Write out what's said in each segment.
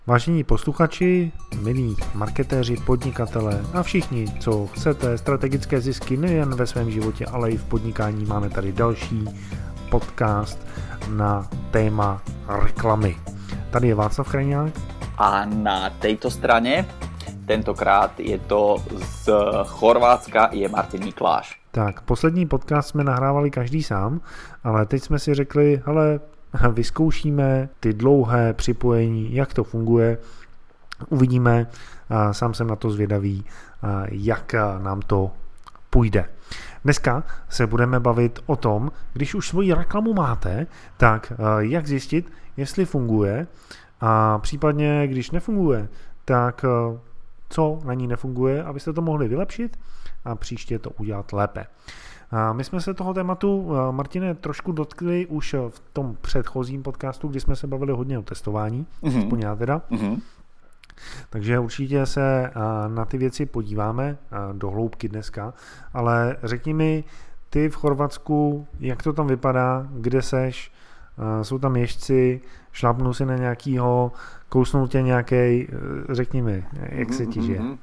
Vážení posluchači, milí marketéři, podnikatelé a všichni, co chcete strategické zisky nejen ve svém životě, ale i v podnikání, máme tady další podcast na téma reklamy. Tady je Václav Krajňák. A na tejto strane, tentokrát je to z Chorvátska, je Martin Mikláš. Tak, poslední podcast jsme nahrávali každý sám, ale teď jsme si řekli, hele, vyzkoušíme ty dlouhé připojení, jak to funguje, uvidíme, sám jsem na to zvědavý, jak nám to půjde. Dneska se budeme bavit o tom, když už svoji reklamu máte, tak jak zjistit, jestli funguje a případně, když nefunguje, tak co na ní nefunguje, abyste to mohli vylepšit a příště to udělat lépe. My jsme se toho tématu, Martine, trošku dotkli už v tom předchozím podcastu, kdy jsme se bavili hodně o testování, aspoň já teda. Takže určitě se na ty věci podíváme do hloubky dneska, ale řekni mi, ty v Chorvatsku, jak to tam vypadá, kde seš, jsou tam ježci, šlápnu si na nějakýho, kousnul tě nějakej, řekni mi, jak se ti žije.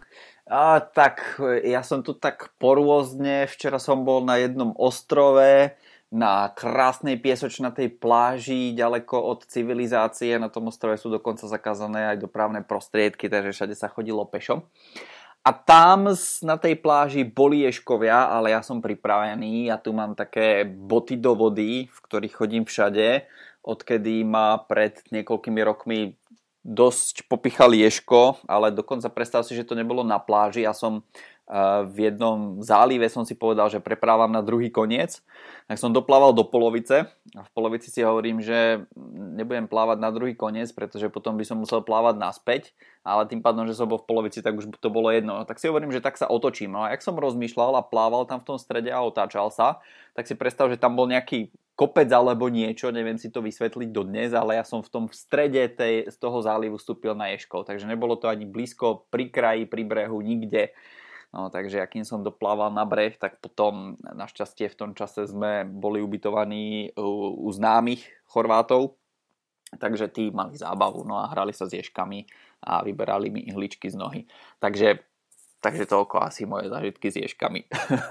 Tak, ja som tu tak porôzne. Včera som bol na jednom ostrove, na krásnej piesočnatej pláži, ďaleko od civilizácie. Na tom ostrove sú dokonca zakázané aj dopravné prostriedky, takže všade sa chodilo pešo. A tam na tej pláži boli ježkovia, ale ja som pripravený. Ja tu mám také boty do vody, v ktorých chodím všade, odkedy ma pred niekoľkými rokmi dosť popichal ježko, ale dokonca predstav si, že to nebolo na pláži. Ja som v jednom zálive som si povedal, že preprávam na druhý koniec, tak som doplával do polovice a v polovici si hovorím, že nebudem plávať na druhý koniec, pretože potom by som musel plávať naspäť, ale tým pádom, že som bol v polovici, tak už to bolo jedno. Tak si hovorím, že tak sa otočím. No a jak som rozmýšľal a plával tam v tom strede a otáčal sa, tak si predstav, že tam bol nejaký kopec alebo niečo, neviem si to vysvetliť dodnes, ale ja som v tom v strede z toho zálivu vstúpil na ježkov, takže nebolo to ani blízko pri kraji, pri brehu, nikde. No, takže akým som doplával na breh, tak potom našťastie v tom čase sme boli ubytovaní u známych Chorvátov, takže tí mali zábavu, no a hrali sa s ježkami a vyberali mi ihličky z nohy. Takže toľko asi moje zážitky s ježkami.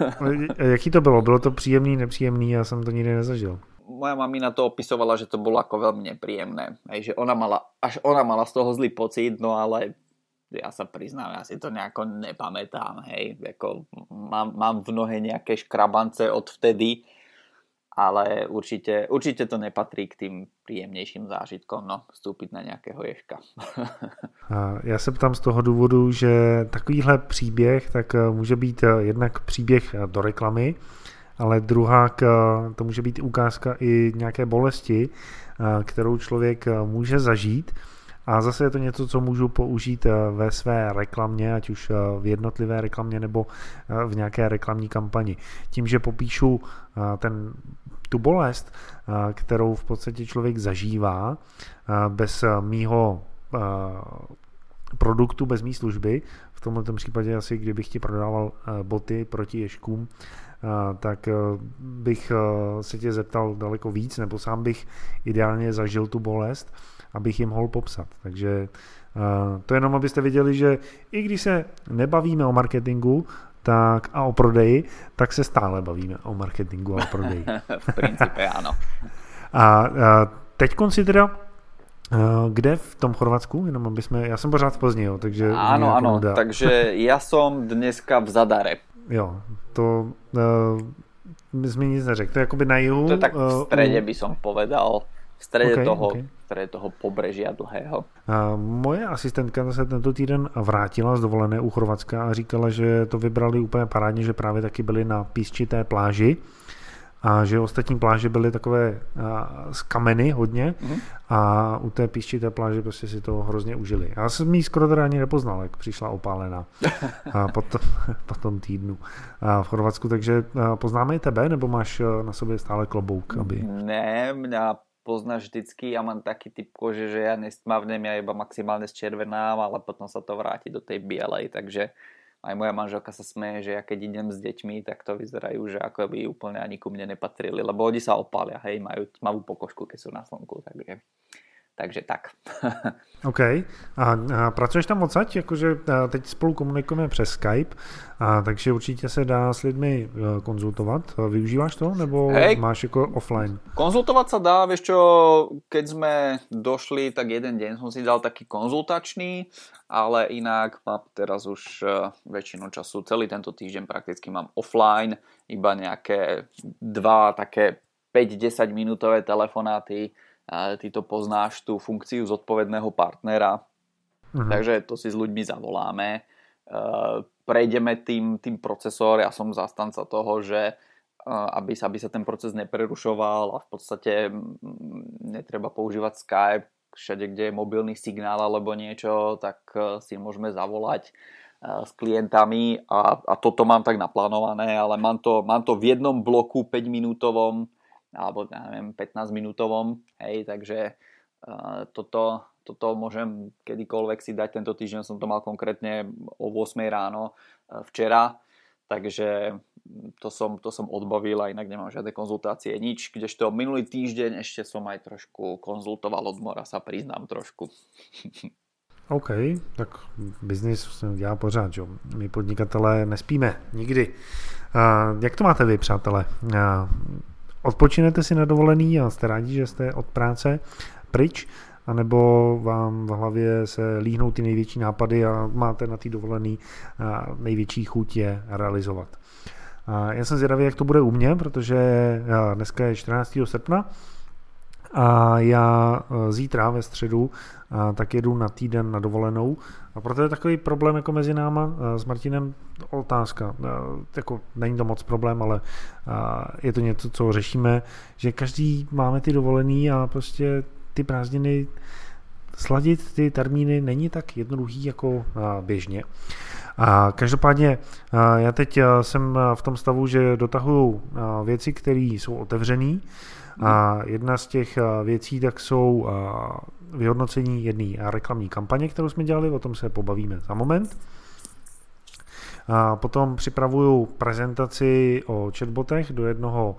Jaký to bylo? Bylo to příjemný, nepříjemný? Já jsem to nikdy nezažil. Moja mamina to opisovala, že to bolo ako veľmi nepríjemné. Hej, že ona mala z toho zlý pocit, no ale ja sa priznám, ja si to nejako nepamätám. Hej, ako mám v nohe nejaké škrabance od vtedy, ale určite to nepatrí k tým príjemnejším zážitkom, no, vstúpiť na nejakého ježka. Já se ptám z toho důvodu, že takovýhle příběh tak může být jednak příběh do reklamy, ale druhá to může být ukázka i nějaké bolesti, kterou člověk může zažít. A zase je to něco, co můžu použít ve své reklamě, ať už v jednotlivé reklamě nebo v nějaké reklamní kampani. Tím, že popíšu tu bolest, kterou v podstatě člověk zažívá bez mýho produktu, bez mý služby, v tomto případě asi kdybych ti prodával boty proti ježkům, tak bych se tě zeptal daleko víc, nebo sám bych ideálně zažil tu bolest, abych jim mohl popsat. Takže to jenom, abyste viděli, že i když se nebavíme o marketingu a o prodeji, tak se stále bavíme o marketingu a o prodeji. V principe áno. A teď si teda kde v tom Chorvatsku? Jenom já jsem pořád v Plzni, jo, takže... Áno, takže ja som dneska v Zadare. Jo, to mi nic neřekl. To je jakoby na jihu. To je tak v strede by som povedal. V strede toho pobrežia dlhého. Moje asistentka se tento týden vrátila z dovolené u Chorvatska a říkala, že to vybrali úplně parádně, že právě taky byli na písčité pláži a že ostatní pláže byly takové z kameny hodně a u té písčité pláže prostě si to hrozně užili. Já jsem jí skoro teda ani nepoznal, jak přišla opálená po tom týdnu v Chorvatsku, takže poznáme i tebe, nebo máš na sobě stále klobouk? Ne, mňa poznáš vždycky, ja mám taký typ kože, že ja nestmavnem, ja iba maximálne zčervenám, ale potom sa to vráti do tej bielej, takže aj moja manželka sa smeje, že ja keď idem s deťmi, tak to vyzerajú, že ako by úplne ani ku mne nepatrili, lebo oni sa opália, hej, majú tmavú pokožku, keď sú na slnku, takže Takže tak. OK. A pracuješ tam odsaď? Jakože teď spolu komunikujeme přes Skype, takže určitě se dá s lidmi konzultovat. Využíváš to? Nebo máš jako offline? Konzultovať sa dá, vieš čo, keď sme došli, tak jeden deň som si dal taký konzultačný, ale inak mám teraz už väčšinu času, celý tento týždeň prakticky mám offline, iba nejaké 2 také 5-10 minútové telefonáty. Ty to poznáš, tú funkciu zodpovedného partnera, takže to si s ľuďmi zavoláme, prejdeme tým procesom. Ja som zastanca toho, že aby sa ten proces neprerušoval a v podstate netreba používať Skype, všade kde je mobilný signál alebo niečo, tak si môžeme zavolať s klientami a toto mám tak naplánované, ale mám to v jednom bloku 5 minútovom alebo neviem, 15 minútovom, hej, takže toto môžem kedykoľvek si dať. Tento týždeň som to mal konkrétne o 8 ráno včera, takže to som odbavil a inak nemám žiadne konzultácie, nič, kdežto minulý týždeň ešte som aj trošku konzultoval od mora, sa priznám trošku. OK, tak biznis se dělá pořád, jo. My podnikatelé nespíme nikdy. Jak to máte vy, přátelé? Odpočinete si na dovolený a jste rádi, že jste od práce pryč, anebo vám v hlavě se líhnou ty největší nápady a máte na té dovolený největší chuť je realizovat. Já jsem zvědavý, jak to bude u mě, protože dneska je 14. srpna a já zítra ve středu tak jedu na týden na dovolenou a proto je takový problém jako mezi náma s Martinem otázka. Jako není to moc problém, ale je to něco, co řešíme, že každý máme ty dovolený a prostě ty prázdniny sladit ty termíny není tak jednoduchý jako běžně. A každopádně já teď jsem v tom stavu, že dotahuju věci, které jsou otevřený. A jedna z těch věcí tak jsou vyhodnocení jedné reklamní kampaně, kterou jsme dělali, o tom se pobavíme za moment. A potom připravuju prezentaci o chatbotech do jednoho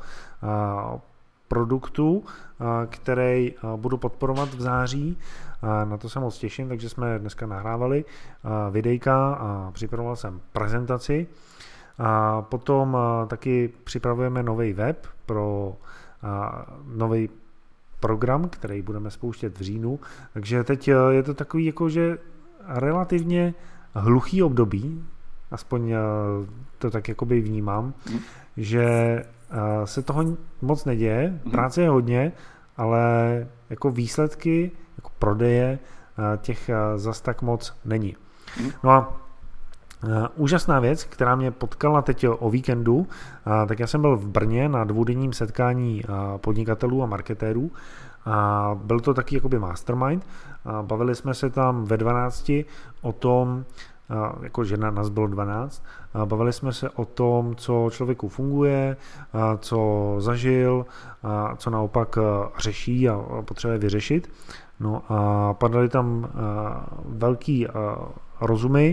produktu, který budu podporovat v září. Na to se moc těším, takže jsme dneska nahrávali videjka a připravoval jsem prezentaci. A potom taky připravujeme nový web pro nový program, který budeme spouštět v říjnu. Takže teď je to takový jakože relativně hluchý období, aspoň to tak jakoby vnímám, že se toho moc neděje, práce je hodně, ale jako výsledky, jako prodeje těch zas tak moc není. No a úžasná věc, která mě potkala teď o víkendu, tak já jsem byl v Brně na dvoudenním setkání podnikatelů a marketérů a byl to taky jakoby mastermind. Bavili jsme se tam ve 12 o tom, jakože nás bylo 12, bavili jsme se o tom, co člověku funguje, co zažil, co naopak řeší a potřebuje vyřešit. No a padaly tam velký rozumy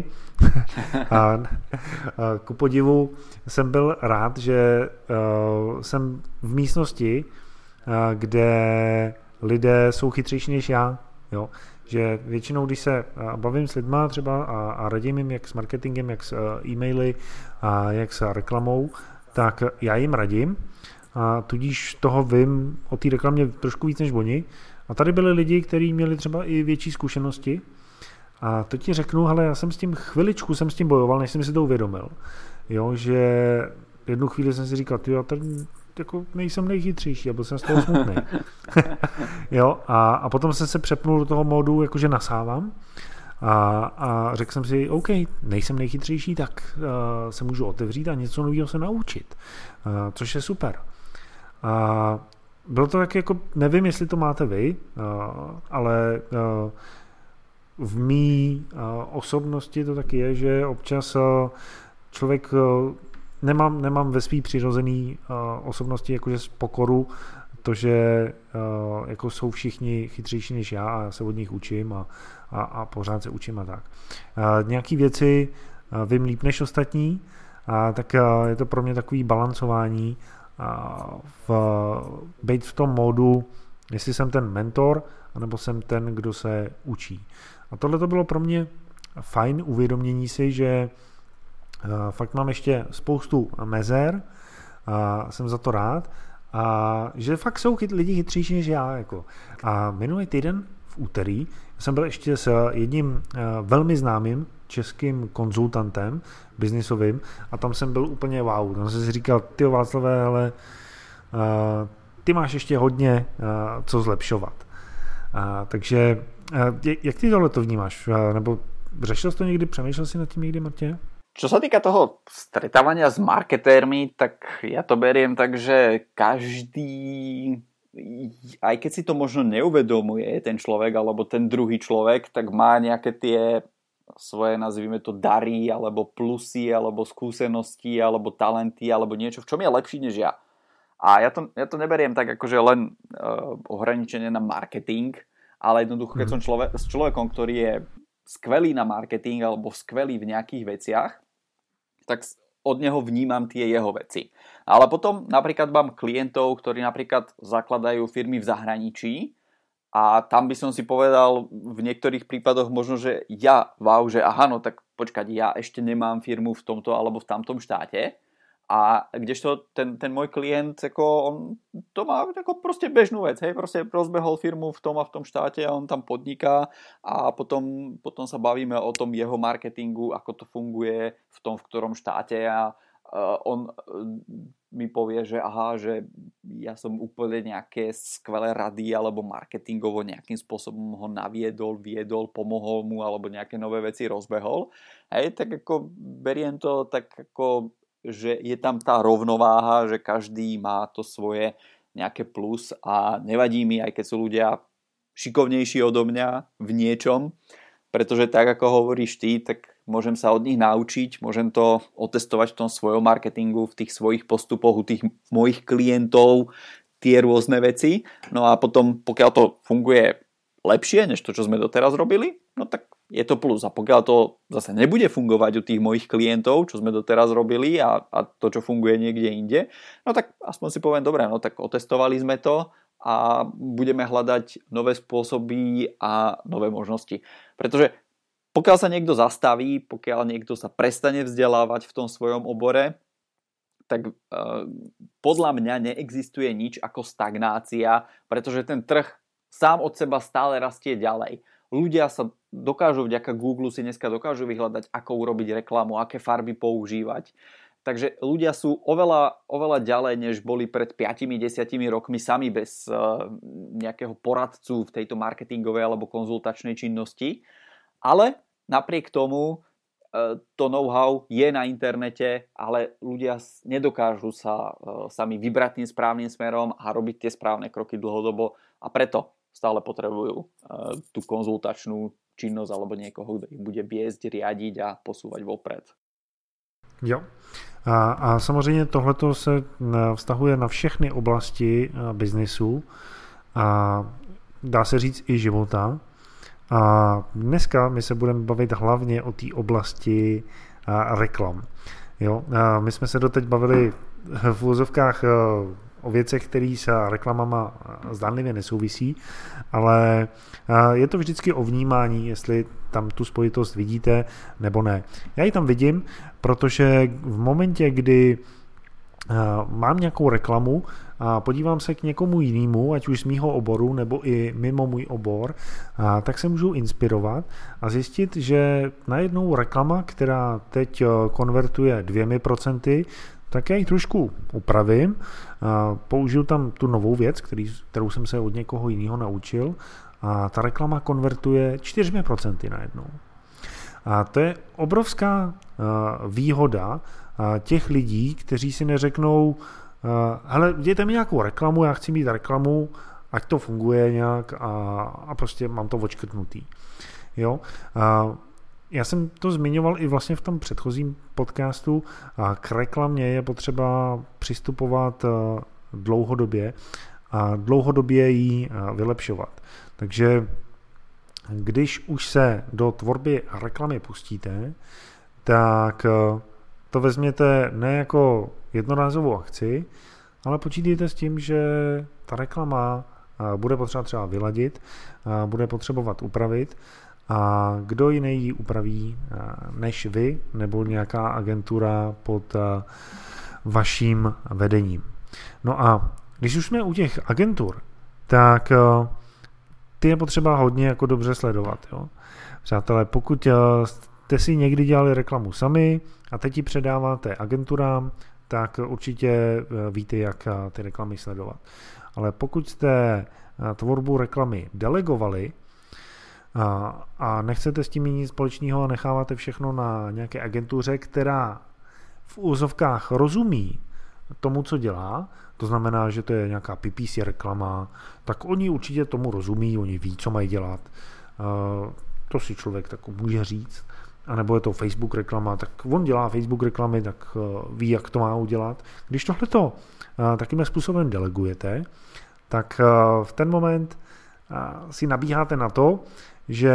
a ku podivu jsem byl rád, že jsem v místnosti, kde lidé jsou chytřejší než já, jo. Že většinou, když se bavím s lidma třeba a radím jim jak s marketingem, jak s e-maily a jak s reklamou, tak já jim radím a tudíž toho vím o té reklamě trošku víc než oni. A tady byli lidi, kteří měli třeba i větší zkušenosti a to ti řeknu, hele, já jsem s tím chviličku jsem s tím bojoval, než jsem si to uvědomil, jo, že jednu chvíli jsem si říkal, já tady jako nejsem nejchytřejší a byl jsem z toho smutný. Jo, a potom jsem se přepnul do toho módu, jakože nasávám a řekl jsem si, OK, nejsem nejchytřejší, tak se můžu otevřít a něco nového se naučit, což je super. A bylo to tak jako, nevím, jestli to máte vy, ale v mý osobnosti to taky je, že občas člověk nemám ve svý přirozený osobnosti jakože z pokoru to, že jako jsou všichni chytřejší než já a se od nich učím a pořád se učím a tak. Nějaký věci vím líp než ostatní, tak je to pro mě takový balancování, být v tom módu Jestli jsem ten mentor, anebo jsem ten, kdo se učí. A tohle to bylo pro mě fajn uvědomění si, že fakt mám ještě spoustu mezer a jsem za to rád a že fakt jsou lidi chytřejší než já. Jako. A minulý týden v úterý jsem byl ještě s jedním velmi známým českým konzultantem biznisovým a tam jsem byl úplně wow. Tam jsem si říkal, tyjo Václavé, ale ty máš ještě hodně co zlepšovat. Takže jak ty tohle to vnímáš? Nebo řešil jsi to někdy, přemýšlel si nad tím někdy, Martine? Čo sa týka toho stretávania s marketérmi, tak ja to beriem tak, že každý, aj keď si to možno neuvedomuje ten človek alebo ten druhý človek, tak má nejaké tie svoje, nazvime to, dary alebo plusy alebo skúsenosti alebo talenty alebo niečo, v čom je lepší než ja. A ja to neberiem tak akože len ohraničenie na marketing, ale jednoducho, keď som s človekom, ktorý je skvelý na marketing alebo skvelý v nejakých veciach, tak od neho vnímam tie jeho veci. Ale potom napríklad mám klientov, ktorí napríklad zakladajú firmy v zahraničí a tam by som si povedal v niektorých prípadoch možno, že že aha, no tak počkať, ja ešte nemám firmu v tomto alebo v tamtom štáte. A kdežto ten môj klient, ako on to má ako proste bežnú vec, hej, proste rozbehol firmu v tom a v tom štáte a on tam podniká a potom sa bavíme o tom jeho marketingu, ako to funguje v tom, v ktorom štáte a on mi povie, že aha, že ja som úplne nejaké skvelé rady alebo marketingovo nejakým spôsobom ho viedol, pomohol mu alebo nejaké nové veci rozbehol. Hej, tak ako beriem to tak ako že je tam tá rovnováha, že každý má to svoje nejaké plus a nevadí mi, aj keď sú ľudia šikovnejší odo mňa v niečom, pretože tak ako hovoríš ty, tak môžem sa od nich naučiť, môžem to otestovať v tom svojom marketingu, v tých svojich postupoch, u tých mojich klientov, tie rôzne veci. No a potom, pokiaľ to funguje lepšie, než to, čo sme doteraz robili, no tak je to plus. A pokiaľ to zase nebude fungovať u tých mojich klientov, čo sme doteraz robili a to, čo funguje niekde inde, no tak aspoň si poviem, dobre, no tak otestovali sme to a budeme hľadať nové spôsoby a nové možnosti. Pretože pokiaľ sa niekto zastaví, pokiaľ niekto sa prestane vzdelávať v tom svojom obore, tak podľa mňa neexistuje nič ako stagnácia, pretože ten trh sám od seba stále rastie ďalej. Ľudia sa dokážu vďaka Google si dneska dokážu vyhľadať, ako urobiť reklamu, aké farby používať. Takže ľudia sú oveľa ďalej, než boli pred 5-10 rokmi sami bez nejakého poradcu v tejto marketingovej alebo konzultačnej činnosti. Ale napriek tomu to know-how je na internete, ale ľudia nedokážu sa sami vybrať tým správnym smerom a robiť tie správne kroky dlhodobo a preto stále potrebujú tú konzultačnú činnosť alebo niekoho, kto ich bude viesť, riadiť a posúvať vopred. Jo. A samozřejmě tohleto se vztahuje na všechny oblasti biznesu a dá se říct i života. A dneska my se budeme bavit hlavně o té oblasti reklam. Jo? My jsme se doteď bavili v úvozovkách o věcech, které s reklamama zdánlivě nesouvisí, ale je to vždycky o vnímání, jestli tam tu spojitost vidíte nebo ne. Já ji tam vidím, protože v momentě, kdy mám nějakou reklamu a podívám se k někomu jinému, ať už z mýho oboru nebo i mimo můj obor, tak se můžu inspirovat a zjistit, že najednou reklama, která teď konvertuje 2%, tak já ji trošku upravím, použiju tam tu novou věc, kterou jsem se od někoho jiného naučil a ta reklama konvertuje 4% najednou. A to je obrovská výhoda těch lidí, kteří si neřeknou, hele, dějte mi nějakou reklamu, já chci mít reklamu, ať to funguje nějak a prostě mám to odškrtnutý. Jo? Já jsem to zmiňoval i vlastně v tom předchozím podcastu. K reklamě je potřeba přistupovat dlouhodobě a dlouhodobě ji vylepšovat. Takže když už se do tvorby reklamy pustíte, tak to vezměte ne jako jednorázovou akci, ale počítejte s tím, že ta reklama bude potřeba třeba vyladit, bude potřebovat upravit a kdo jiný ji upraví než vy nebo nějaká agentura pod vaším vedením. No a když už jsme u těch agentur, tak ty je potřeba hodně jako dobře sledovat. Jo? Přátelé, pokud jste si někdy dělali reklamu sami a teď ji předáváte agenturám, tak určitě víte, jak ty reklamy sledovat. Ale pokud jste tvorbu reklamy delegovali a nechcete s tím mít nic společného a necháváte všechno na nějaké agentuře, která v úzovkách rozumí tomu, co dělá, to znamená, že to je nějaká PPC reklama, tak oni určitě tomu rozumí, oni ví, co mají dělat. To si člověk tak může říct. A nebo je to Facebook reklama, tak on dělá Facebook reklamy, tak ví, jak to má udělat. Když tohleto takým způsobem delegujete, tak v ten moment si nabíháte na to, že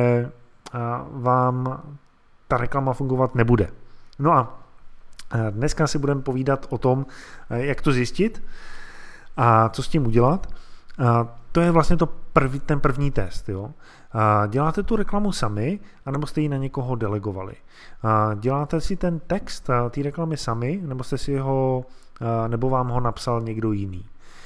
vám ta reklama fungovat nebude. No a dneska si budeme povídat o tom, jak to zjistit a co s tím udělat. To je vlastně ten první test. Jo? Děláte tu reklamu sami, anebo jste ji na někoho delegovali. Děláte si ten text té reklamy sami, nebo jste si nebo vám ho napsal někdo jiný.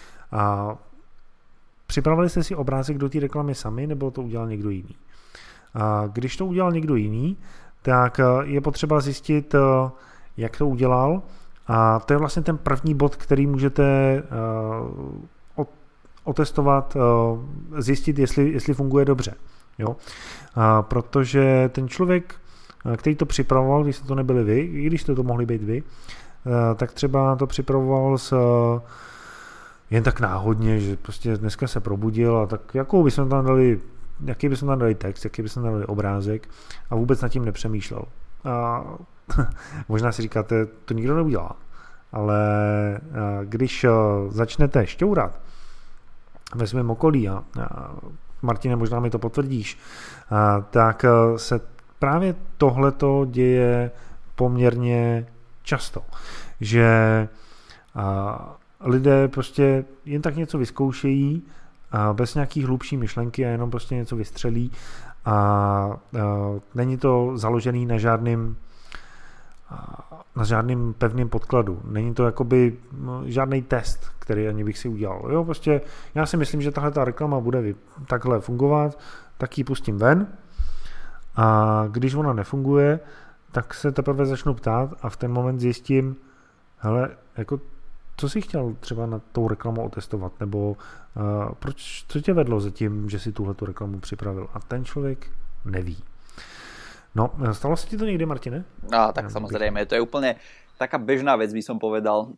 Připravili jste si obrázek do té reklamy sami, nebo to udělal někdo jiný. Když to udělal někdo jiný, tak je potřeba zjistit, jak to udělal. A to je vlastně ten první bod, který můžete otestovat, zjistit, jestli funguje dobře. Jo? Protože ten člověk, který to připravoval, když jste to nebyli vy, i když jste to mohli být vy, tak třeba to připravoval jen tak náhodně, že prostě dneska se probudil a tak jaký bychom tam dali text, jaký bychom tam dali obrázek a vůbec nad tím nepřemýšlel. A možná si říkáte, to nikdo neudělá, ale když začnete šťourat ve svém okolí a Martine, možná mi to potvrdíš, tak se právě tohleto děje poměrně často, že lidé prostě jen tak něco vyzkoušejí bez nějakých hlubší myšlenky a jenom prostě něco vystřelí a není to založený na žádným pevným podkladu. Není to jakoby žádný test, který ani bych si udělal. Jo, prostě já si myslím, že tahle ta reklama bude takhle fungovat, tak ji pustím ven a když ona nefunguje, tak se teprve začnu ptát a v ten moment zjistím, hele, jako co jsi chtěl třeba na tou reklamu otestovat, nebo co tě vedlo za tím, že si tuhletu reklamu připravil a ten člověk neví. No, stalo sa ti to niekde, Martine? Tak samozrejme, to je úplne taká bežná vec, by som povedal,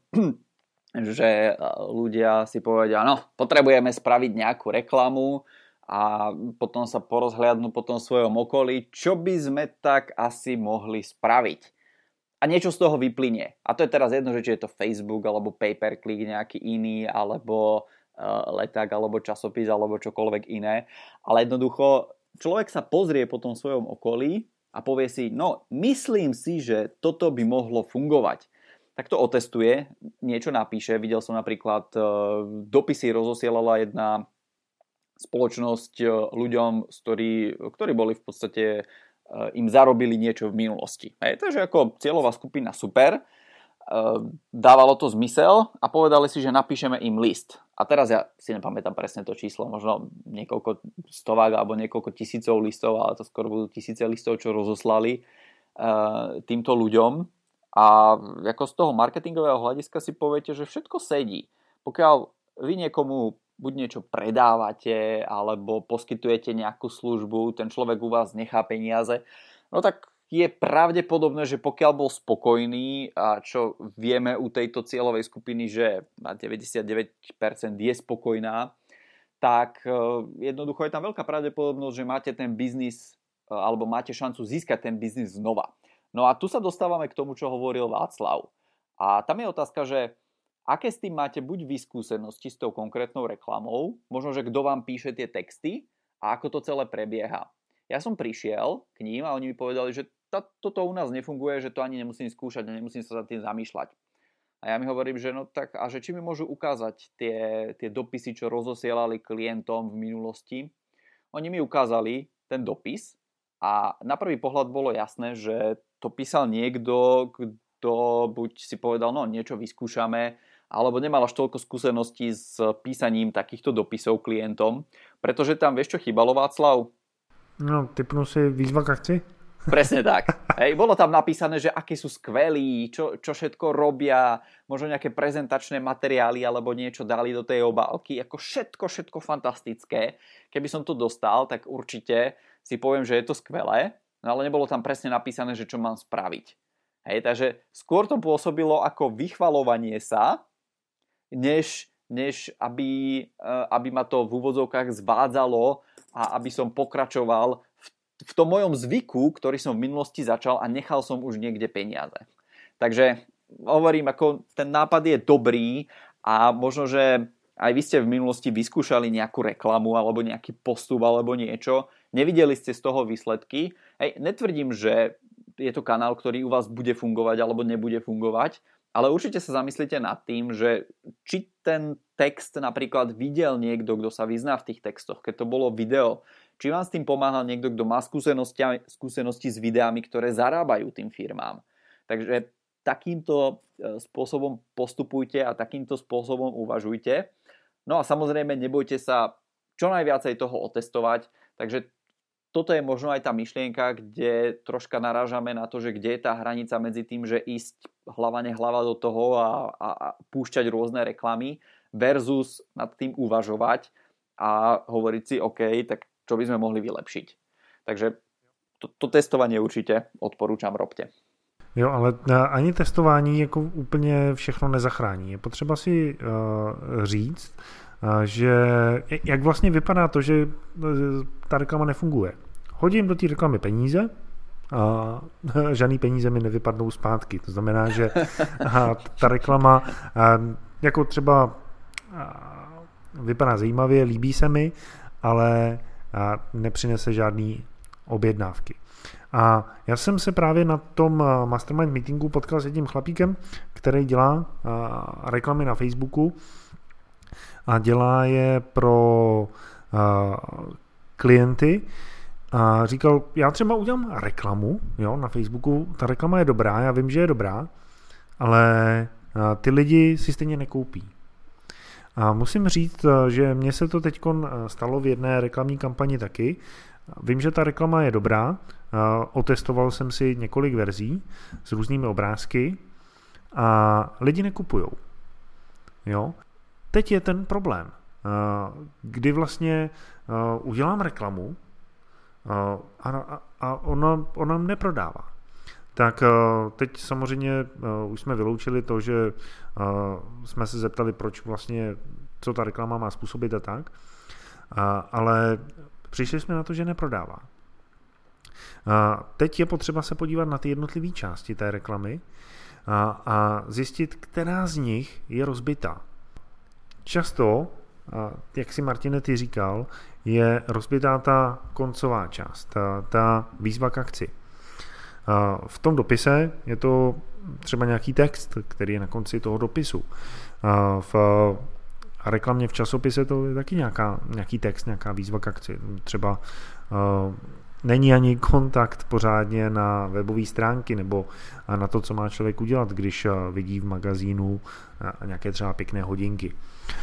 že ľudia si povedia, no, potrebujeme spraviť nejakú reklamu a potom sa porozhliadnú po tom svojom okolí, čo by sme tak asi mohli spraviť. A niečo z toho vyplynie. A to je teraz jedno, že či je to Facebook, alebo pay-per-click nejaký iný, alebo leták, alebo časopis, alebo čokoľvek iné. Ale jednoducho, človek sa pozrie po tom svojom okolí a povie si, no myslím si, že toto by mohlo fungovať. Tak to otestuje, niečo napíše. Videl som napríklad, dopisy rozosielala jedna spoločnosť ľuďom, ktorí boli v podstate, im zarobili niečo v minulosti. Takže ako cieľová skupina super, dávalo to zmysel a povedali si, že napíšeme im list. A teraz ja si nepamätám presne to číslo, možno niekoľko stovák alebo niekoľko tisícov listov, ale to skoro budú tisíce listov, čo rozoslali týmto ľuďom. A ako z toho marketingového hľadiska si poviete, že všetko sedí. Pokiaľ vy niekomu buď niečo predávate, alebo poskytujete nejakú službu, ten človek u vás nechá peniaze, no tak je pravdepodobné, že pokiaľ bol spokojný, a čo vieme u tejto cieľovej skupiny, že na 99% je spokojná, tak jednoducho je tam veľká pravdepodobnosť, že máte ten biznis alebo máte šancu získať ten biznis znova. No a tu sa dostávame k tomu, čo hovoril Václav. A tam je otázka, že aké s tým máte buď vy skúsenosti s tou konkrétnou reklamou, možno, že kto vám píše tie texty a ako to celé prebieha. Ja som prišiel k ním a oni mi povedali, že toto u nás nefunguje, že to ani nemusím skúšať a nemusím sa za tým zamýšľať. A ja mi hovorím, že no tak, a že či mi môžu ukázať tie dopisy, čo rozosielali klientom v minulosti. Oni mi ukázali ten dopis a na prvý pohľad bolo jasné, že to písal niekto, kto buď si povedal, no niečo vyskúšame, alebo nemal až toľko skúseností s písaním takýchto dopisov klientom, pretože tam, vieš čo chýbalo, Václav? No, typnu si výzva k akcii? Presne tak. Hej, bolo tam napísané, že akí sú skvelí, čo všetko robia, možno nejaké prezentačné materiály alebo niečo dali do tej obálky, ako všetko fantastické. Keby som to dostal, tak určite si poviem, že je to skvelé, no ale nebolo tam presne napísané, že čo mám spraviť. Hej, takže skôr to pôsobilo ako vychvalovanie sa, než aby ma to v úvodzovkách zvádzalo a aby som pokračoval v tom mojom zvyku, ktorý som v minulosti začal a nechal som už niekde peniaze. Takže hovorím, ako ten nápad je dobrý a možno, že aj vy ste v minulosti vyskúšali nejakú reklamu alebo nejaký postup alebo niečo, nevideli ste z toho výsledky. Hej, netvrdím, že je to kanál, ktorý u vás bude fungovať alebo nebude fungovať, ale určite sa zamyslite nad tým, že či ten text napríklad videl niekto, kto sa vyzná v tých textoch, keď to bolo video, či vám s tým pomáhal niekto, kto má skúsenosti s videami, ktoré zarábajú tým firmám. Takže takýmto spôsobom postupujte a takýmto spôsobom uvažujte. No a samozrejme nebojte sa čo najviacej toho otestovať, takže toto je možno aj tá myšlienka, kde troška narážame na to, že kde je tá hranica medzi tým, že ísť hlava nehlava do toho a púšťať rôzne reklamy versus nad tým uvažovať a hovoriť si, OK, tak čo by sme mohli vylepšiť. Takže to testovanie určite odporúčam, robte. Jo, ale ani testování jako úplně všechno nezachrání. Je potřeba si říct, že jak vlastně vypadá to, že ta reklama nefunguje. Hodím do té reklamy peníze a žádný peníze mi nevypadnou zpátky. To znamená, že ta reklama jako třeba vypadá zajímavě, líbí se mi, ale nepřinese žádný objednávky. A já jsem se právě na tom mastermind meetingu potkal s jedním chlapíkem, který dělá reklamy na Facebooku a dělá je pro klienty a říkal, já třeba udělám reklamu, jo, na Facebooku, ta reklama je dobrá, já vím, že je dobrá, ale ty lidi si stejně nekoupí. A musím říct, že mně se to teď stalo v jedné reklamní kampani taky. Vím, že ta reklama je dobrá, otestoval jsem si několik verzí s různými obrázky a lidi nekupujou. Jo? Teď je ten problém, kdy vlastně udělám reklamu a ona neprodává. Tak teď samozřejmě už jsme vyloučili to, že jsme se zeptali, proč vlastně, co ta reklama má způsobit a tak, ale přišli jsme na to, že neprodává. Teď je potřeba se podívat na ty jednotlivé části té reklamy a zjistit, která z nich je rozbitá. Často, jak si Martine ty říkal, je rozbitá ta koncová část, ta výzva k akci. V tom dopise je to třeba nějaký text, který je na konci toho dopisu. V reklamě v časopise to je taky nějaký text, nějaká výzva k akci. Třeba není ani kontakt pořádně na webové stránky nebo na to, co má člověk udělat, když vidí v magazínu nějaké třeba pěkné hodinky.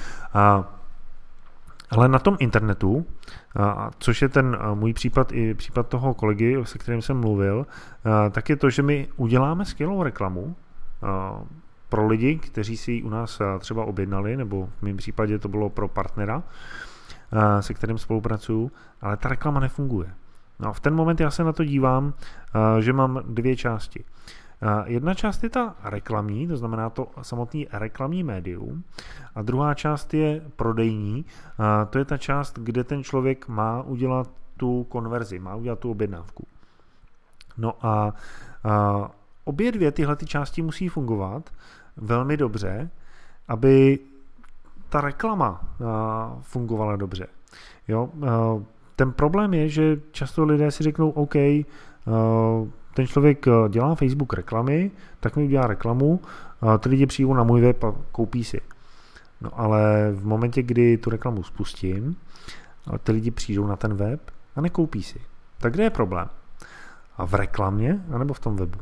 Ale na tom internetu, což je ten můj případ i případ toho kolegy, se kterým jsem mluvil, tak je to, že my uděláme skvělou reklamu pro lidi, kteří si ji u nás třeba objednali, nebo v mém případě to bylo pro partnera, se kterým spolupracuju, ale ta reklama nefunguje. No, v ten moment já se na to dívám, že mám dvě části. Jedna část je ta reklamní, to znamená to samotný reklamní médium, a druhá část je prodejní, to je ta část, kde ten člověk má udělat tu konverzi, má udělat tu objednávku. No a obě dvě tyhle ty části musí fungovat velmi dobře, aby ta reklama fungovala dobře. Jo? Ten problém je, že často lidé si řeknou, OK, ten člověk dělá Facebook reklamy, tak mi udělá reklamu, ty lidi přijdou na můj web a koupí si. No ale v momentě, kdy tu reklamu spustím, ty lidi přijdou na ten web a nekoupí si. Tak kde je problém? A v reklamě, anebo v tom webu?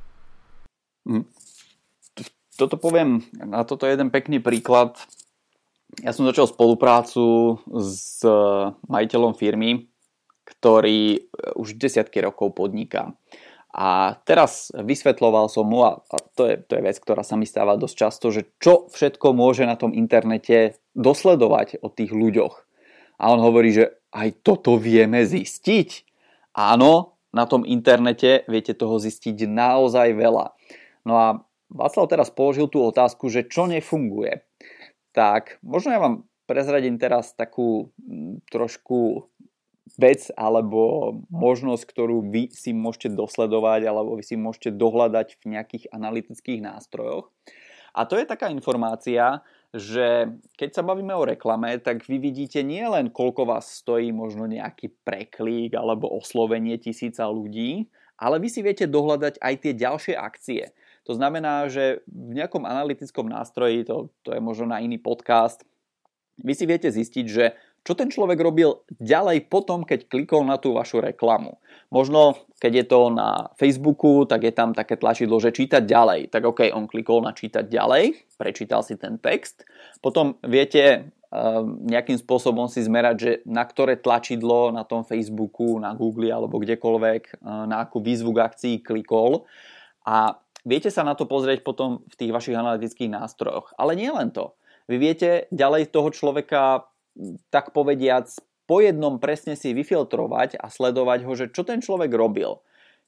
Toto poviem, na toto je jeden pekný príklad. Ja som začal spoluprácu s majiteľom firmy, ktorý už desiatky rokov podniká. A teraz vysvetľoval som mu, a to je vec, ktorá sa mi stáva dosť často, že čo všetko môže na tom internete dosledovať o tých ľuďoch. A on hovorí, že aj toto vieme zistiť. Áno, na tom internete viete toho zistiť naozaj veľa. No a Václav teraz položil tú otázku, že čo nefunguje. Tak možno ja vám prezradím teraz takú trošku vec alebo možnosť, ktorú vy si môžete dosledovať alebo vy si môžete dohľadať v nejakých analytických nástrojoch. A to je taká informácia, že keď sa bavíme o reklame, tak vy vidíte nie len koľko vás stojí možno nejaký preklík alebo oslovenie tisíca ľudí, ale vy si viete dohľadať aj tie ďalšie akcie. To znamená, že v nejakom analytickom nástroji, to je možno na iný podcast, vy si viete zistiť, že čo ten človek robil ďalej potom, keď klikol na tú vašu reklamu. Možno, keď je to na Facebooku, tak je tam také tlačidlo, že čítať ďalej. Tak OK, on klikol na čítať ďalej, prečítal si ten text. Potom viete nejakým spôsobom si zmerať, že na ktoré tlačidlo na tom Facebooku, na Google alebo kdekoľvek, na akú výzvu k akcii klikol. A viete sa na to pozrieť potom v tých vašich analytických nástrojoch. Ale nie len to. Vy viete ďalej toho človeka, tak povediac, po jednom presne si vyfiltrovať a sledovať ho, že čo ten človek robil.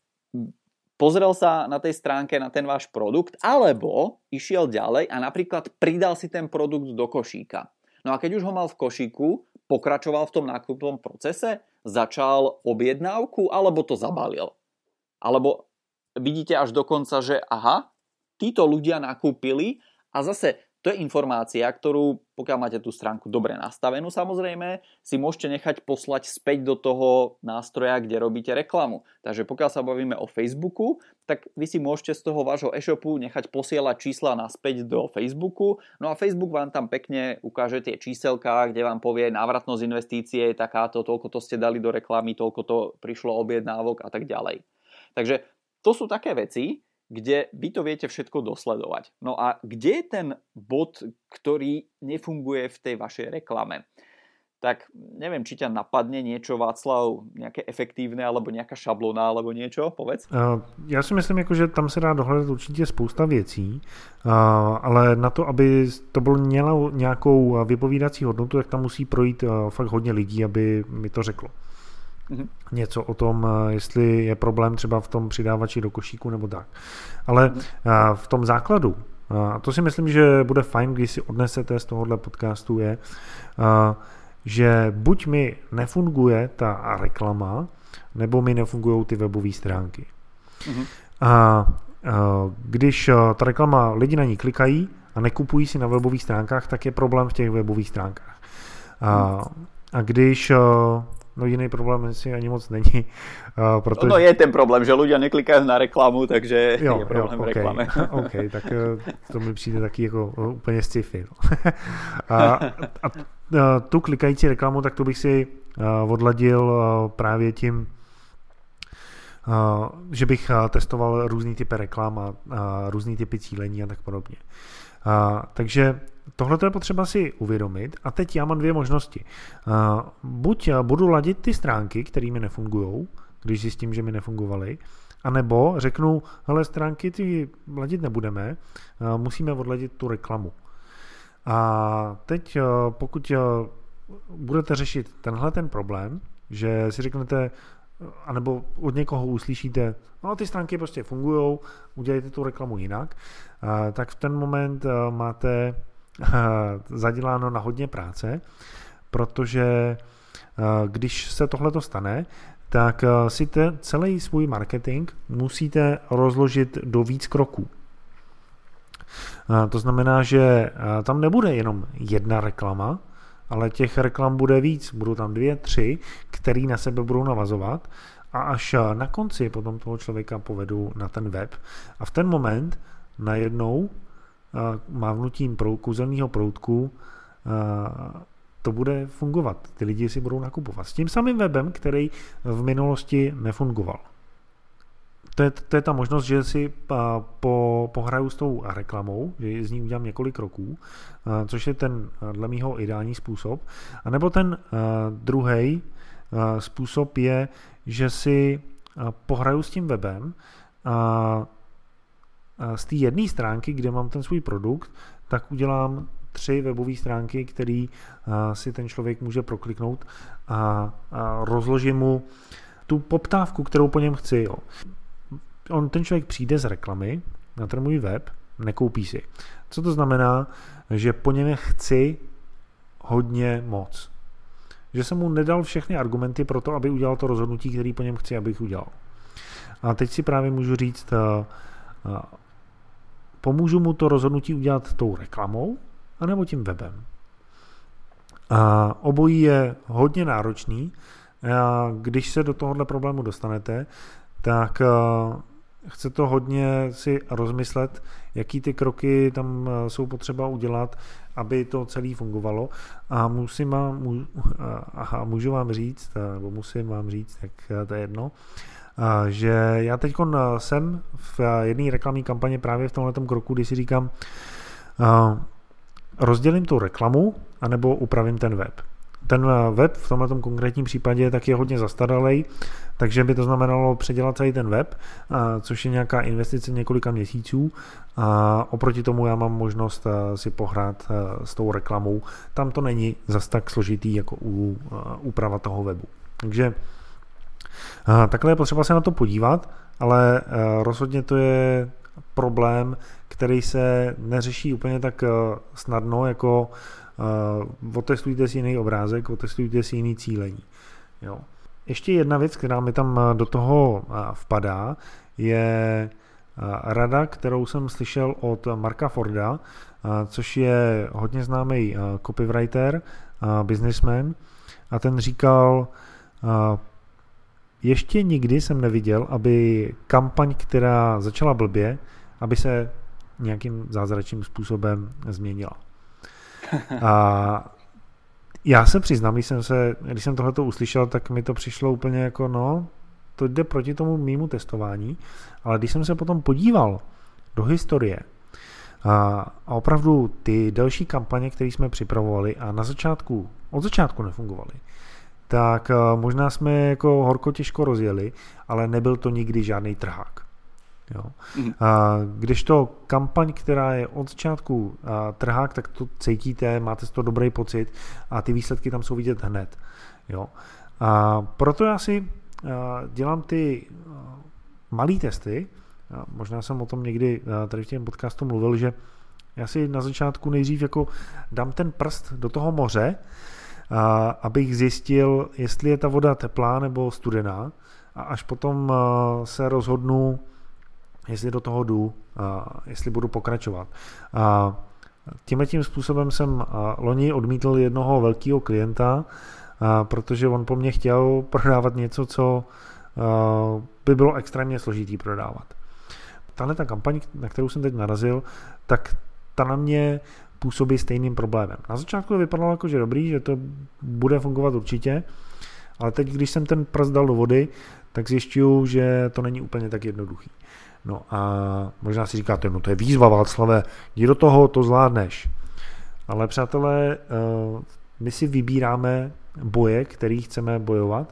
Pozrel sa na tej stránke na ten váš produkt, alebo išiel ďalej a napríklad pridal si ten produkt do košíka. No a keď už ho mal v košíku, pokračoval v tom nákupnom procese, začal objednávku, alebo to zabalil. Alebo vidíte až dokonca, že aha, títo ľudia nakúpili a zase to je informácia, ktorú, pokiaľ máte tú stránku dobre nastavenú, samozrejme, si môžete nechať poslať späť do toho nástroja, kde robíte reklamu. Takže pokiaľ sa bavíme o Facebooku, tak vy si môžete z toho vášho e-shopu nechať posielať čísla naspäť do Facebooku. No a Facebook vám tam pekne ukáže tie číselká, kde vám povie návratnosť investície je takáto, toľko to ste dali do reklamy, toľko to prišlo objednávok a tak ďalej. Takže to sú také veci, kde vy to viete všetko dosledovať. No a kde je ten bod, ktorý nefunguje v tej vašej reklame? Tak neviem, či ťa napadne niečo, Václav, nejaké efektívne, alebo nejaká šablona, alebo niečo, povedz. Já si myslím, že tam se dá dohledat určitě spousta věcí, ale na to, aby to bylo mělo nějakou vypovídací hodnotu, tak tam musí projít fakt hodně lidí, aby mi to řeklo. Něco o tom, jestli je problém třeba v tom přidávači do košíku nebo tak. Ale v tom základu, a to si myslím, že bude fajn, když si odnesete z tohohle podcastu, je, že buď mi nefunguje ta reklama, nebo mi nefungují ty webové stránky. A když ta reklama, lidi na ní klikají a nekupují si na webových stránkách, tak je problém v těch webových stránkách. A když no jiný problém si ani moc není. Protože... No je ten problém, že ľudia neklikajú na reklamu, takže je problém v reklame. OK, tak to mi přijde taky jako úplně sci-fi. A tu klikající reklamu, tak to bych si odladil právě tím, že bych testoval různý typy reklam a různý typy cílení a tak podobně. Takže tohle je potřeba si uvědomit a teď já mám dvě možnosti. Buď budu ladit ty stránky, které mi nefungujou, když zjistím, že mi nefungovaly, anebo řeknu, hele, stránky ty ladit nebudeme, musíme odladit tu reklamu. A teď pokud budete řešit tenhle ten problém, že si řeknete, anebo od někoho uslyšíte, no ty stránky prostě fungujou, udělejte tu reklamu jinak, tak v ten moment máte zaděláno na hodně práce, protože když se tohleto stane, tak si celý svůj marketing musíte rozložit do víc kroků. To znamená, že tam nebude jenom jedna reklama, ale těch reklam bude víc. Budou tam 2, 3, které na sebe budou navazovat a až na konci potom toho člověka povedu na ten web a v ten moment najednou mávnutím kouzelného proutku to bude fungovat. Ty lidi si budou nakupovat. S tím samým webem, který v minulosti nefungoval. To je ta možnost, že si pohraju s tou reklamou, že z ní udělám několik roků, což je ten dle mýho ideální způsob. A nebo ten druhý způsob je, že si pohraju s tím webem a z té jedné stránky, kde mám ten svůj produkt, tak udělám 3 webové stránky, které si ten člověk může prokliknout a rozložím mu tu poptávku, kterou po něm chci. Jo. Ten člověk přijde z reklamy na ten můj web, nekoupí si. Co to znamená? Že po něm chci hodně moc. Že jsem mu nedal všechny argumenty pro to, aby udělal to rozhodnutí, který po něm chci, abych udělal. A teď si právě můžu říct, pomůžu mu to rozhodnutí udělat tou reklamou, anebo tím webem. A obojí je hodně náročný. A když se do tohohle problému dostanete, tak chce to hodně si rozmyslet, jaký ty kroky tam jsou potřeba udělat, aby to celé fungovalo. A můžu vám říct, nebo musím vám říct, tak to je jedno, že já teď jsem v jedné reklamní kampani právě v tomhletom kroku, kdy si říkám, rozdělím tu reklamu, anebo upravím ten web. Ten web v tomto konkrétním případě tak je hodně zastaralej, takže by to znamenalo předělat celý ten web, což je nějaká investice několika měsíců a oproti tomu já mám možnost si pohrát s tou reklamou. Tam to není zas tak složitý jako úprava toho webu. Takže takhle je potřeba se na to podívat, ale rozhodně to je problém, který se neřeší úplně tak snadno, jako otestujte si jiný obrázek, otestujte si jiný cílení. Jo. Ještě jedna věc, která mi tam do toho vpadá, je rada, kterou jsem slyšel od Marka Forda, což je hodně známý copywriter, businessman, a ten říkal, ještě nikdy jsem neviděl, aby kampaň, která začala blbě, aby se nějakým zázračným způsobem změnila. A já se přiznám, když jsem tohleto uslyšel, tak mi to přišlo úplně jako, to jde proti tomu mýmu testování, ale když jsem se potom podíval do historie a opravdu ty další kampaně, které jsme připravovali a od začátku nefungovaly, tak možná jsme jako horko těžko rozjeli, ale nebyl to nikdy žádný trhák. Jo. Když to kampaň, která je od začátku trhák, tak to cítíte, máte z toho dobrý pocit a ty výsledky tam jsou vidět hned. Jo. A proto já si dělám ty malý testy, možná jsem o tom někdy tady v těm podcastu mluvil, že já si na začátku nejdřív jako dám ten prst do toho moře, abych zjistil, jestli je ta voda teplá nebo studená a až potom se rozhodnu, jestli do toho jdu, jestli budu pokračovat. Tímhletím způsobem jsem loni odmítl jednoho velkého klienta, protože on po mně chtěl prodávat něco, co by bylo extrémně složitý prodávat. Tahle ta kampaň, na kterou jsem teď narazil, tak ta na mě působí stejným problémem. Na začátku to vypadalo jako, že dobrý, že to bude fungovat určitě, ale teď, když jsem ten prst dal do vody, tak zjišťuju, že to není úplně tak jednoduchý. No a možná si říkáte, to je výzva, Václave, jdi do toho, to zvládneš. Ale přátelé, my si vybíráme boje, který chceme bojovat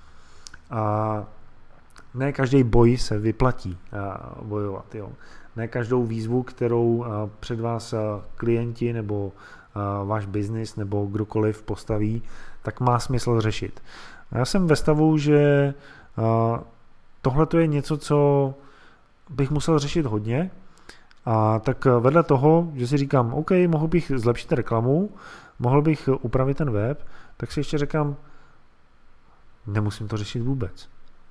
a ne každý boj se vyplatí bojovat. Jo. Ne každou výzvu, kterou před vás klienti nebo váš biznis nebo kdokoliv postaví, tak má smysl řešit. A já jsem ve stavu, že tohle je něco, co bych musel řešit hodně, a tak vedle toho, že si říkám, OK, mohl bych zlepšit reklamu, mohl bych upravit ten web, tak si ještě říkám, nemusím to řešit vůbec.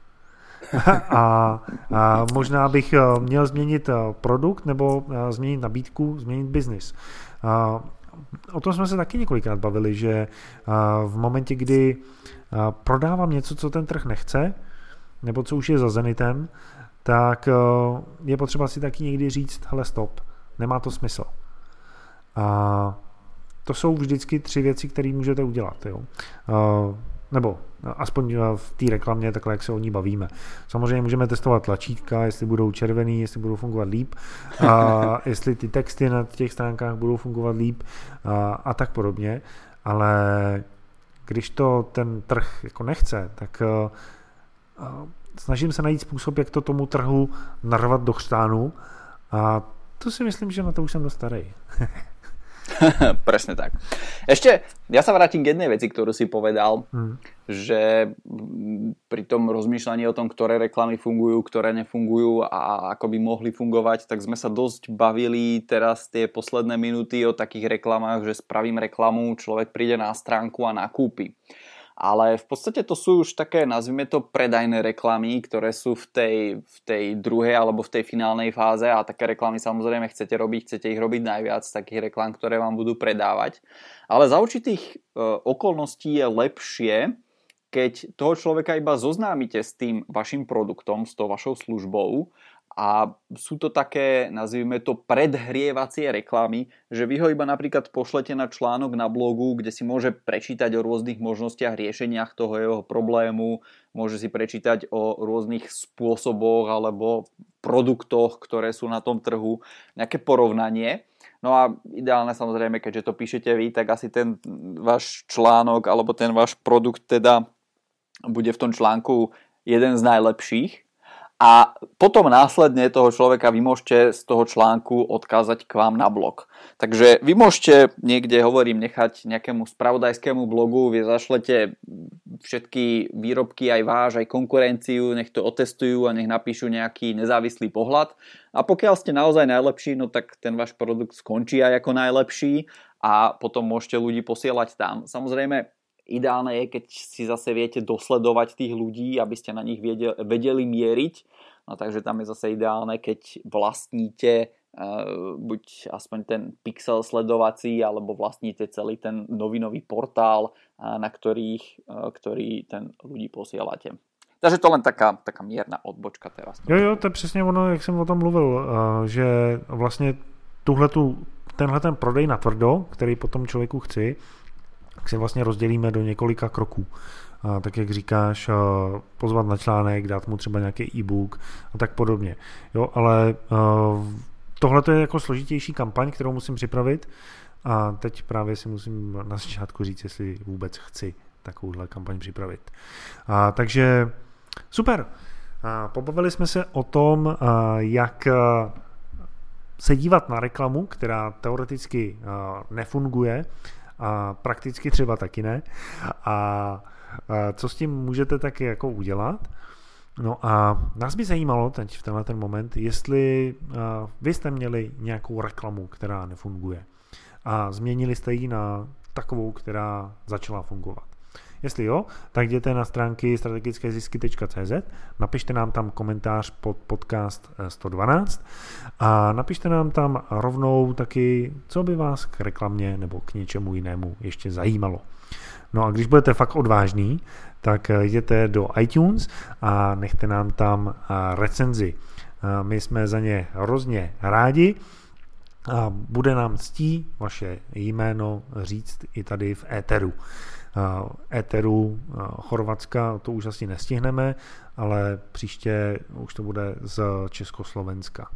a možná bych měl změnit produkt nebo změnit nabídku, změnit biznis. O tom jsme se taky několikrát bavili, že v momentě, kdy prodávám něco, co ten trh nechce, nebo co už je za zenitem, tak je potřeba si taky někdy říct, hele stop, nemá to smysl. A to jsou vždycky 3 věci, které můžete udělat. Jo? Nebo aspoň v té reklamě, takhle jak se o ní bavíme. Samozřejmě můžeme testovat tlačítka, jestli budou červený, jestli budou fungovat líp, a jestli ty texty na těch stránkách budou fungovat líp a tak podobně, ale když to ten trh jako nechce, tak snažím se najít způsob, jak to tomu trhu narvat do chřtánu a to si myslím, že na to už jsem dost starý. Presne tak. Ešte, ja sa vrátim k jednej veci, ktorú si povedal, že pri tom rozmýšľaní o tom, ktoré reklamy fungujú, ktoré nefungujú a ako by mohli fungovať, tak sme sa dosť bavili teraz tie posledné minúty o takých reklamách, že spravím reklamu, človek príde na stránku a nakúpi. Ale v podstate to sú už také, nazvime to, predajné reklamy, ktoré sú v tej druhej alebo v tej finálnej fáze a také reklamy samozrejme chcete ich robiť najviac, takých reklam, ktoré vám budú predávať. Ale za určitých okolností je lepšie, keď toho človeka iba zoznámite s tým vašim produktom, s tou vašou službou a sú to také, nazvime to, predhrievacie reklamy, že vy ho iba napríklad pošlete na článok na blogu, kde si môže prečítať o rôznych možnostiach, riešeniach toho jeho problému, môže si prečítať o rôznych spôsoboch alebo produktoch, ktoré sú na tom trhu, nejaké porovnanie. No a ideálne samozrejme, keďže to píšete vy, tak asi ten váš článok alebo ten váš produkt teda bude v tom článku jeden z najlepších. A potom následne toho človeka vy môžete z toho článku odkázať k vám na blog. Takže vy môžete niekde, nechať nejakému spravodajskému blogu, vy zašlete všetky výrobky, aj váš, aj konkurenciu, nech to otestujú a nech napíšu nejaký nezávislý pohľad. A pokiaľ ste naozaj najlepší, no tak ten váš produkt skončí aj ako najlepší a potom môžete ľudí posielať tam. Samozrejme, ideálne je, keď si zase viete dosledovať tých ľudí, aby ste na nich vedeli mieriť. No takže tam je zase ideálne, keď vlastníte buď aspoň ten pixel sledovací, alebo vlastníte celý ten novinový portál, na ktorý ten ľudí posielate. Takže to len taká mierna odbočka teraz. Jo, to je přesně ono, jak jsem o tom mluvil, že vlastně tenhle ten prodej na tvrdo, který potom člověku chci, tak si vlastně rozdělíme do několika kroků. Tak jak říkáš, pozvat na článek, dát mu třeba nějaký e-book a tak podobně. Jo, ale tohle je jako složitější kampaň, kterou musím připravit a teď právě si musím na začátku říct, jestli vůbec chci takovouhle kampaň připravit. Takže super. Pobavili jsme se o tom, jak se dívat na reklamu, která teoreticky nefunguje, a prakticky třeba taky ne. A co s tím můžete taky jako udělat? No a nás by zajímalo teď v tenhle ten moment, jestli vy jste měli nějakou reklamu, která nefunguje a změnili jste ji na takovou, která začala fungovat. Jestli jo, tak jděte na stránky strategickézisky.cz, napište nám tam komentář pod podcast 112 a napište nám tam rovnou taky, co by vás k reklamě nebo k něčemu jinému ještě zajímalo. No a když budete fakt odvážný, tak jděte do iTunes a nechte nám tam recenzi. My jsme za ně hrozně rádi a bude nám ctí vaše jméno říct i tady v éteru Chorvatska, to už asi nestihneme, ale příště už to bude z Československa.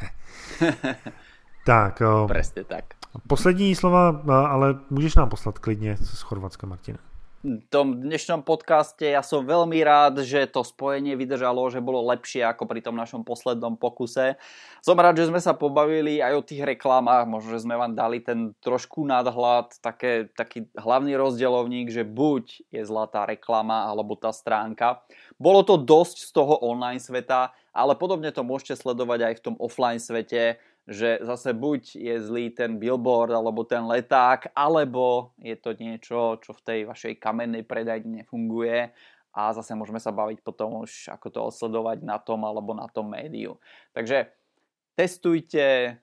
Tak. Presne tak. Poslední slova, ale můžeš nám poslat klidně z Chorvatska, Martina. V tom dnešnom podcaste ja som veľmi rád, že to spojenie vydržalo, že bolo lepšie ako pri tom našom poslednom pokuse. Som rád, že sme sa pobavili aj o tých reklamách, možno, že sme vám dali ten trošku nadhľad, taký hlavný rozdeľovník, že buď je zlá tá reklama alebo tá stránka. Bolo to dosť z toho online sveta, ale podobne to môžete sledovať aj v tom offline svete, že zase buď je zlý ten billboard alebo ten leták, alebo je to niečo, čo v tej vašej kamennej predajni nefunguje a zase môžeme sa baviť potom už, ako to odsledovať na tom alebo na tom médiu. Takže testujte,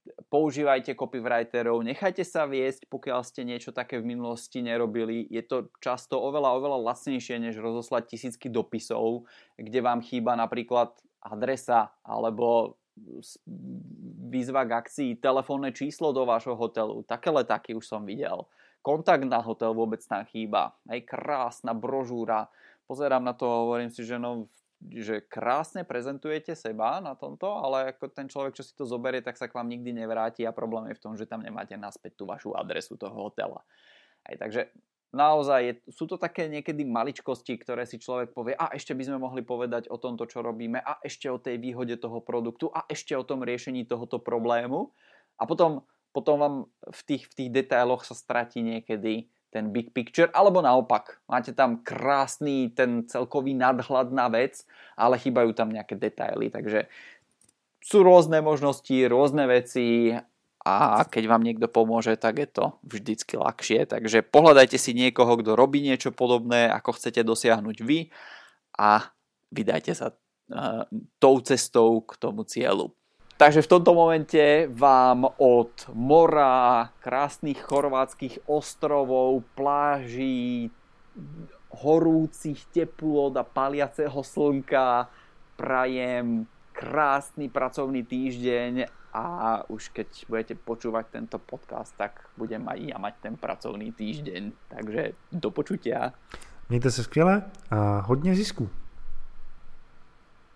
používajte copywriterov, nechajte sa viesť, pokiaľ ste niečo také v minulosti nerobili. Je to často oveľa lacnejšie, než rozoslať tisícky dopisov, kde vám chýba napríklad adresa alebo výzva k akcii, telefónne číslo do vášho hotelu. Také letáky už som videl. Kontakt na hotel vôbec tam chýba. Krásna brožúra. Pozerám na to a hovorím si, že krásne prezentujete seba na tomto, ale ako ten človek, čo si to zoberie, tak sa k vám nikdy nevráti a problém je v tom, že tam nemáte naspäť tú vašu adresu toho hotela. Takže naozaj sú to také niekedy maličkosti, ktoré si človek povie, a ešte by sme mohli povedať o tomto, čo robíme, a ešte o tej výhode toho produktu, a ešte o tom riešení tohoto problému. A potom vám v tých detailoch sa stratí niekedy ten big picture, alebo naopak, máte tam krásny ten celkový nadhľad na vec, ale chýbajú tam nejaké detaily, takže sú rôzne možnosti, rôzne veci a keď vám niekto pomôže, tak je to vždycky ľahšie, takže pohľadajte si niekoho, kto robí niečo podobné, ako chcete dosiahnuť vy a vydajte sa tou cestou k tomu cieľu. Takže v tomto momente vám od mora, krásnych chorvátskych ostrovov, pláží, horúcich teplôt a paliaceho slnka prajem krásny pracovný týždeň a už keď budete počúvať tento podcast, tak budem aj ja mať ten pracovný týždeň. Takže do počutia. Mějte se skvěle a hodně zisku.